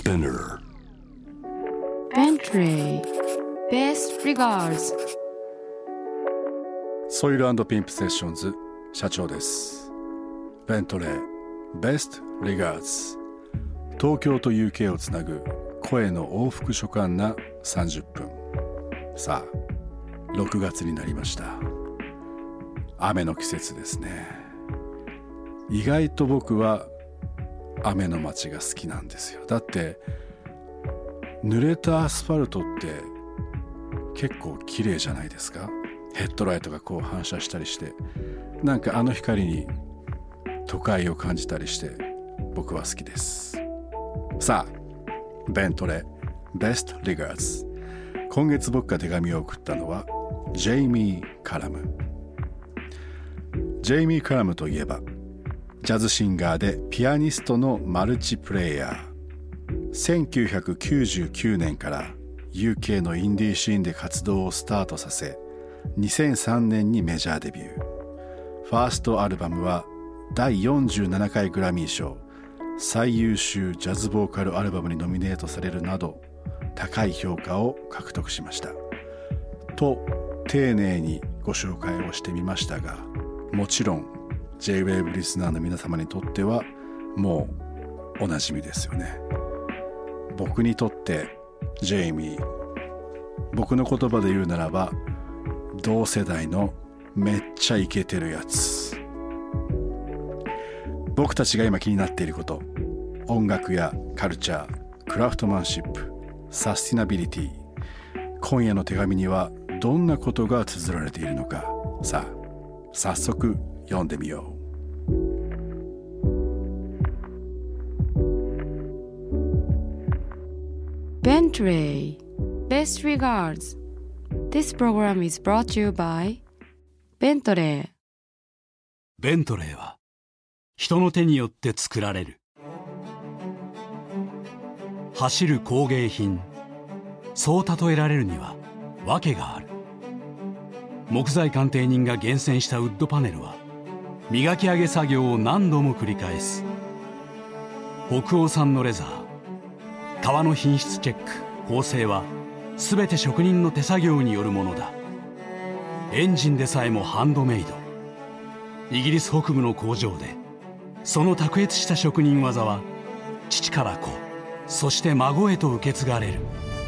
Spinner Bentley Best Regards ソイル&ピンプセッションズ社長です。ベントレー Best Regards 東京と UK をつなぐ声の往復書簡な30分。さあ6月になりました。雨の季節ですね。意外と僕は雨の街が好きなんですよ。だって濡れたアスファルトって結構綺麗じゃないですか。ヘッドライトがこう反射したりして、なんかあの光に都会を感じたりして僕は好きです。さあベントレ Best Regards、 今月僕が手紙を送ったのはジェイミー・カラム。ジェイミー・カラムといえばジャズシンガーでピアニストのマルチプレイヤー。1999年から UK のインディーシーンで活動をスタートさせ、2003年にメジャーデビュー。ファーストアルバムは第47回グラミー賞最優秀ジャズボーカルアルバムにノミネートされるなど高い評価を獲得しました。と丁寧にご紹介をしてみましたが、もちろん J-Wave リスナーの皆様にとってはもうおなじみですよね。僕にとってジェイミー、僕の言葉で言うならば同世代のめっちゃイケてるやつ。僕たちが今気になっていること、音楽やカルチャー、クラフトマンシップ、サスティナビリティ、今夜の手紙にはどんなことが綴られているのか。さあ早速読んでみよう。 Bentley Best Regards. This program is brought to you by Bentley. ベントレーは人の手によって作られる。走る工芸品、そう例えられるには訳がある。木材鑑定人が厳選したウッドパネルは磨き上げ作業を何度も繰り返す。北欧産のレザー、革の品質チェック、縫製は全て職人の手作業によるものだ。エンジンでさえもハンドメイド。イギリス北部の工場でその卓越した職人技は父から子、そして孫へと受け継がれる。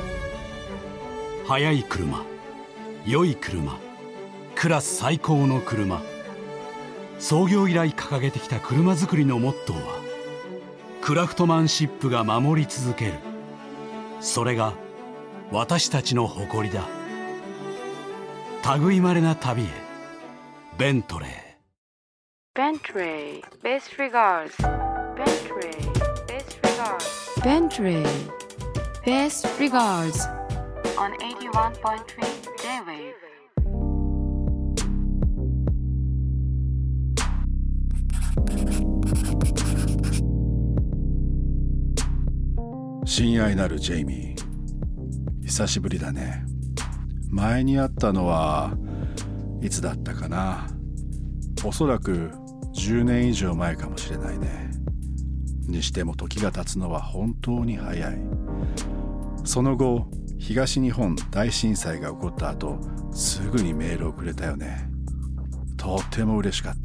速い車、良い車、クラス最高の車。創業以来掲げてきた車作りのモットーはクラフトマンシップが守り続ける。それが私たちの誇りだ。類まれな旅へ、ベントレー。 Bentley Best Regards. Bentley Best Regards. Bentley Best Regards on 81.3 J-Wave. 親愛なるジェイミー、久しぶりだね。前に会ったのはいつだったかな。おそらく10年以上前かもしれないね。にしても時が経つのは本当に早い。その後東日本大震災が起こった後、すぐにメールをくれたよね。とっても嬉しかった。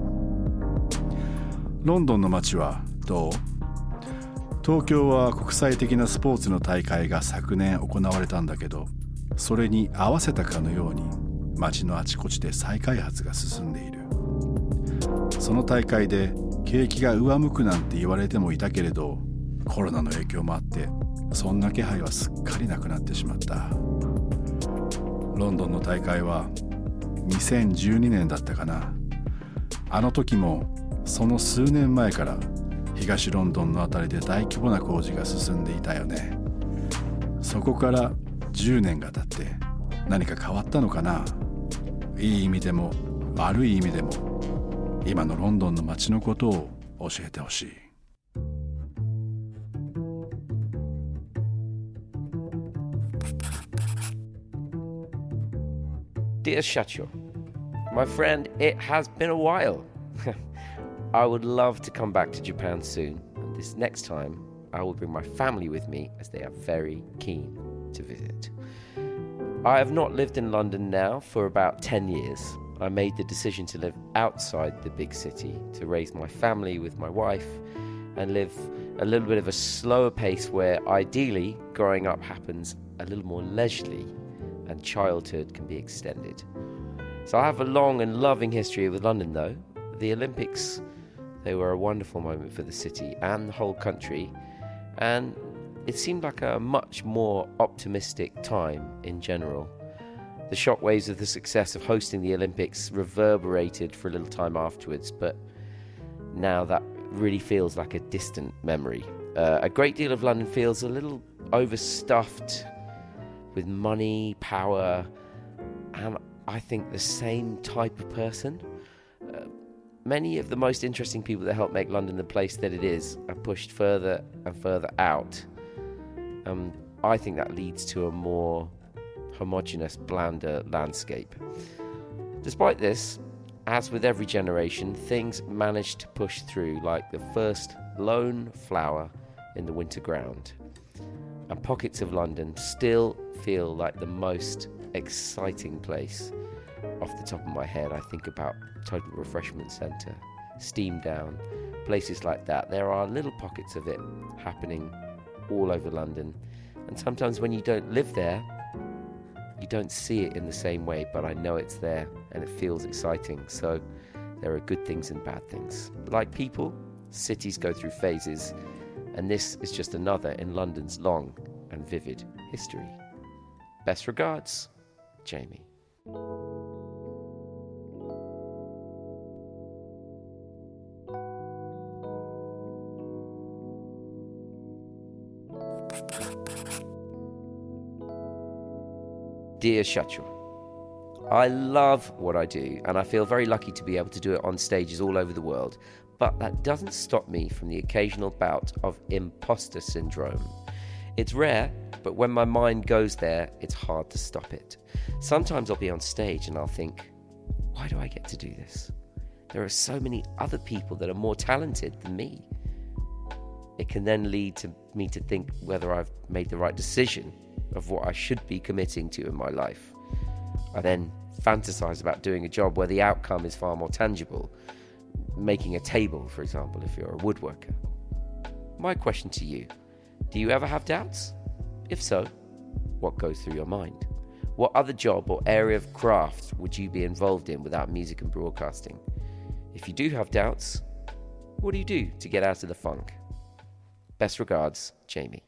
ロンドンの街はどう？東京は国際的なスポーツの大会が昨年行われたんだけど、それに合わせたかのように街のあちこちで再開発が進んでいる。その大会で景気が上向くなんて言われてもいたけれど、コロナの影響もあってそんな気配はすっかりなくなってしまった。ロンドンの大会は2012年だったかな。あの時もその数年前から東ロンドンのあたりで大規模な工事が進んでいたよね。そこから10年が経って何か変わったのかな。いい意味でも悪い意味でも今のロンドンの街のことを教えてほしい。 Dear Shacho, my friend, it has been a while. I would love to come back to Japan soon. This next time, I will bring my family with me as they are very keen to visit. I have not lived in London now for about 10 years. I made the decision to live outside the big city, to raise my family with my wife and live a little bit of a slower pace where ideally growing up happens a little more leisurely and childhood can be extended. So I have a long and loving history with London though. The Olympics, they were a wonderful moment for the city and the whole country, and it seemed like a much more optimistic time in general. The shockwaves of the success of hosting the Olympics reverberated for a little time afterwards, but now that really feels like a distant memory. A great deal of London feels a little overstuffed with money, power, and I think the same type of person. Many of the most interesting people that help make London the place that it is are pushed further and further out. I think that leads to a more homogeneous, blander landscape. Despite this, as with every generation, things manage to push through like the first lone flower in the winter ground. And pockets of London still feel like the most exciting place. Off the top of my head, I think about Total Refreshment Centre, Steam Down, places like that. There are little pockets of it happening all over London. And sometimes when you don't live there, you don't see it in the same way, but I know it's there and it feels exciting. So there are good things and bad things. Like people, cities go through phases, and this is just another in London's long and vivid history. Best regards, Jamie. Dear Shacho, I love what I do, and I feel very lucky to be able to do it on stages all over the world, but that doesn't stop me from the occasional bout of imposter syndrome. It's rare, but when my mind goes there, it's hard to stop it. Sometimes I'll be on stage and I'll think, why do I get to do this? There are so many other people that are more talented than me. It can then lead to me to think whether I've made the right decision of what I should be committing to in my life. I then fantasize about doing a job where the outcome is far more tangible, making a table, for example, if you're a woodworker. My question to you, do you ever have doubts? If so, what goes through your mind? What other job or area of craft would you be involved in without music and broadcasting? If you do have doubts, what do you do to get out of the funk? Best regards, Jamie.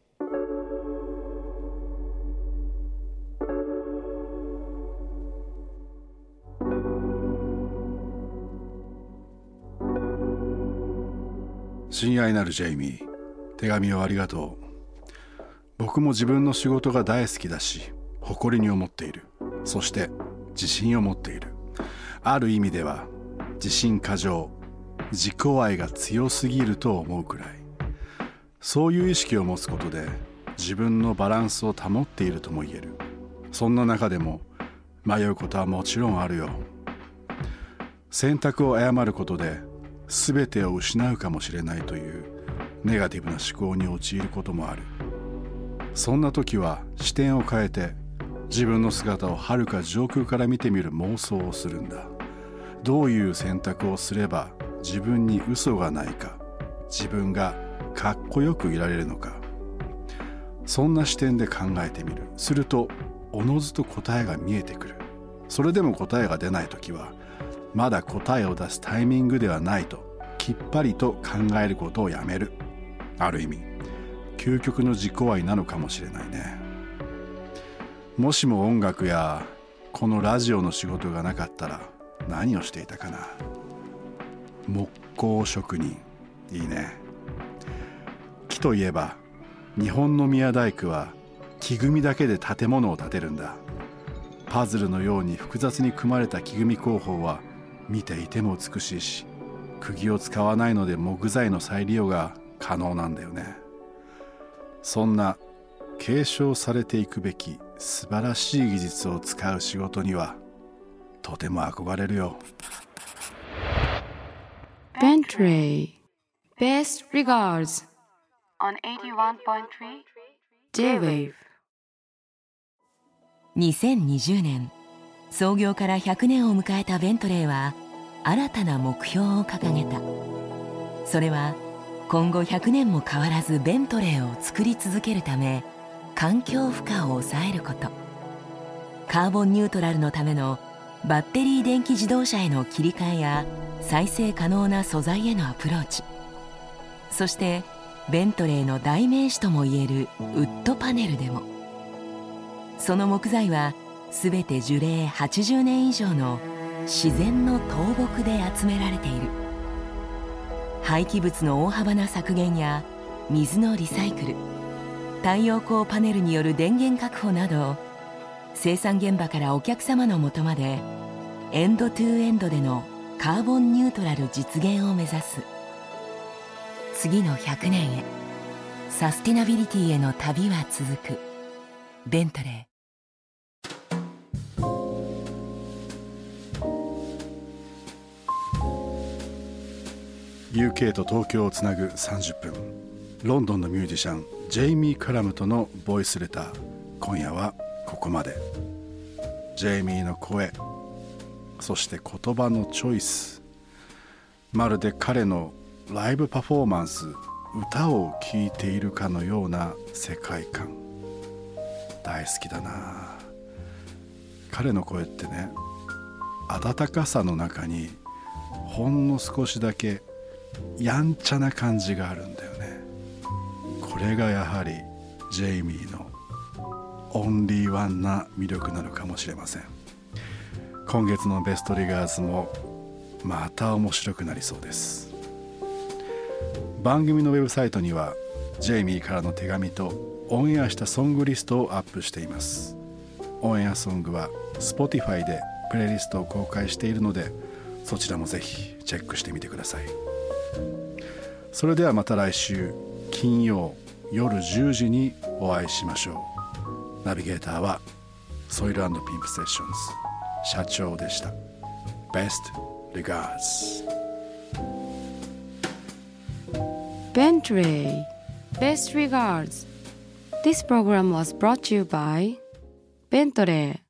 親愛なるジェイミー、手紙をありがとう。僕も自分の仕事が大好きだし、誇りに思っている。そして自信を持っている。ある意味では自信過剰、自己愛が強すぎると思うくらい。そういう意識を持つことで自分のバランスを保っているとも言える。そんな中でも迷うことはもちろんあるよ。選択を誤ることで全てを失うかもしれないというネガティブな思考に陥ることもある。そんな時は視点を変えて自分の姿をはるか上空から見てみる妄想をするんだ。どういう選択をすれば自分に嘘がないか、自分がかっこよくいられるのか、そんな視点で考えてみる。するとおのずと答えが見えてくる。それでも答えが出ない時はまだ答えを出すタイミングではないときっぱりと考えることをやめる。ある意味究極の自己愛なのかもしれないね。もしも音楽やこのラジオの仕事がなかったら何をしていたかな。木工職人、いいね。木といえば日本の宮大工は木組みだけで建物を建てるんだ。パズルのように複雑に組まれた木組み工法は見ていても美しいし、釘を使わないので木材の再利用が可能なんだよね。そんな継承されていくべき素晴らしい技術を使う仕事にはとても憧れるよ。 Bentley, best regards. on 81.3 J-Wave。 2020年、創業から100年を迎えたベントレーは新たな目標を掲げた。それは今後100年も変わらずベントレーを作り続けるため、環境負荷を抑えること、カーボンニュートラルのためのバッテリー電気自動車への切り替えや再生可能な素材へのアプローチ、そしてベントレーの代名詞ともいえるウッドパネルでも、その木材はすべて樹齢80年以上の自然の倒木で集められている。廃棄物の大幅な削減や水のリサイクル、太陽光パネルによる電源確保など、生産現場からお客様のもとまでエンドトゥエンドでのカーボンニュートラル実現を目指す。次の100年へ、サスティナビリティへの旅は続く。ベントレー。 UK と東京をつなぐ30分、ロンドンのミュージシャンジェイミー・カラムとのボイスレター。今夜はここまで。ジェイミーの声、そして言葉のチョイス、まるで彼のライブパフォーマンス、歌を聴いているかのような世界観、大好きだな。彼の声ってね、温かさの中にほんの少しだけやんちゃな感じがあるんだよね。これがやはりジェイミーのオンリーワンな魅力なのかもしれません。今月のベストリガーズもまた面白くなりそうです。番組のウェブサイトにはジェイミーからの手紙とオンエアしたソングリストをアップしています。オンエアソングは Spotify でプレイリストを公開しているので、そちらもぜひチェックしてみてください。それではまた来週金曜夜10時にお会いしましょう。ナビゲーターはソイル&ピンプセッションズ社長でした。 Best regards。 Bentley Best regards. This program was brought to you by Bentley